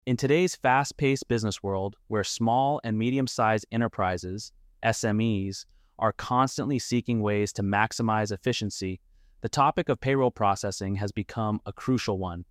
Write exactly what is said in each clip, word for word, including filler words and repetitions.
In today's fast-paced business world, where small and medium-sized enterprises, S M Es, are constantly seeking ways to maximize efficiency, the topic of payroll processing has become a crucial one.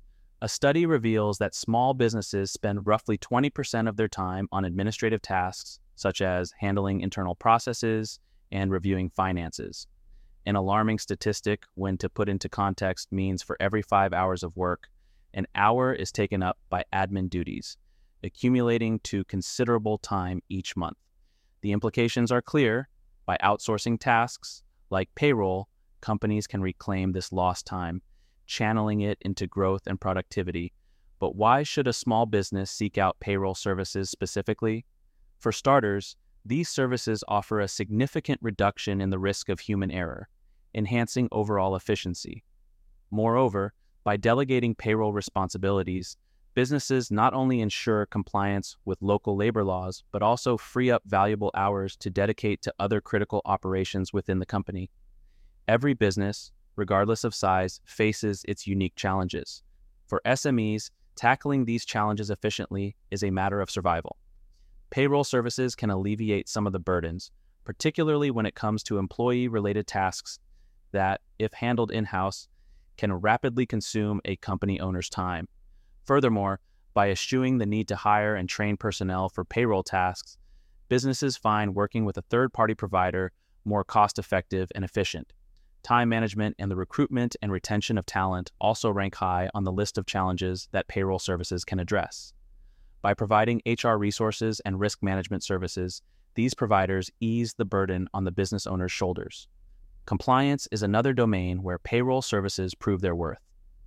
A study reveals that small businesses spend roughly twenty percent of their time on administrative tasks, such as handling internal processes and reviewing finances. An alarming statistic, when to put into context, means for every five hours of work, an hour is taken up by admin duties, accumulating to considerable time each month. The implications are clear. By outsourcing tasks like payroll, companies can reclaim this lost time, channeling it into growth and productivity. But why should a small business seek out payroll services specifically? For starters, these services offer a significant reduction in the risk of human error, enhancing overall efficiency. Moreover, by delegating payroll responsibilities, businesses not only ensure compliance with local labor laws, but also free up valuable hours to dedicate to other critical operations within the company. Every business, regardless of size, faces its unique challenges. For S M Es, tackling these challenges efficiently is a matter of survival. Payroll services can alleviate some of the burdens, particularly when it comes to employee-related tasks that, if handled in-house, can rapidly consume a company owner's time. Furthermore, by eschewing the need to hire and train personnel for payroll tasks, businesses find working with a third-party provider more cost-effective and efficient. Time management and the recruitment and retention of talent also rank high on the list of challenges that payroll services can address. By providing H R resources and risk management services, these providers ease the burden on the business owner's shoulders. Compliance is another domain where payroll services prove their worth.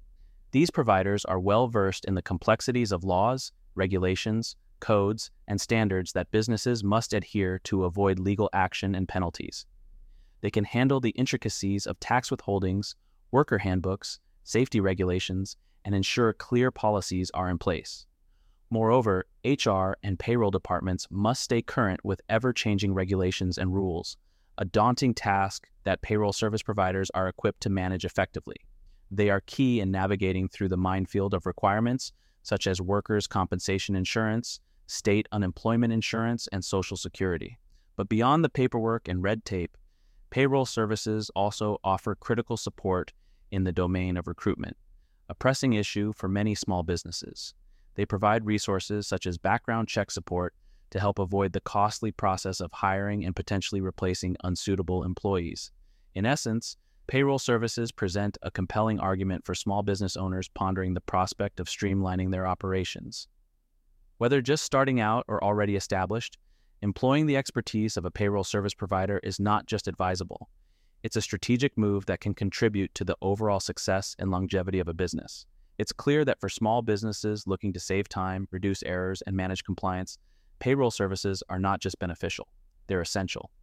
These providers are well-versed in the complexities of laws, regulations, codes, and standards that businesses must adhere to avoid legal action and penalties. They can handle the intricacies of tax withholdings, worker handbooks, safety regulations, and ensure clear policies are in place. Moreover, H R and payroll departments must stay current with ever-changing regulations and rules, a daunting task that payroll service providers are equipped to manage effectively. They are key in navigating through the minefield of requirements such as workers' compensation insurance, state unemployment insurance, and Social Security. But beyond the paperwork and red tape, payroll services also offer critical support in the domain of recruitment, a pressing issue for many small businesses. They provide resources such as background check support to help avoid the costly process of hiring and potentially replacing unsuitable employees. In essence, payroll services present a compelling argument for small business owners pondering the prospect of streamlining their operations. Whether just starting out or already established, employing the expertise of a payroll service provider is not just advisable. It's a strategic move that can contribute to the overall success and longevity of a business. It's clear that for small businesses looking to save time, reduce errors, and manage compliance, payroll services are not just beneficial, they're essential.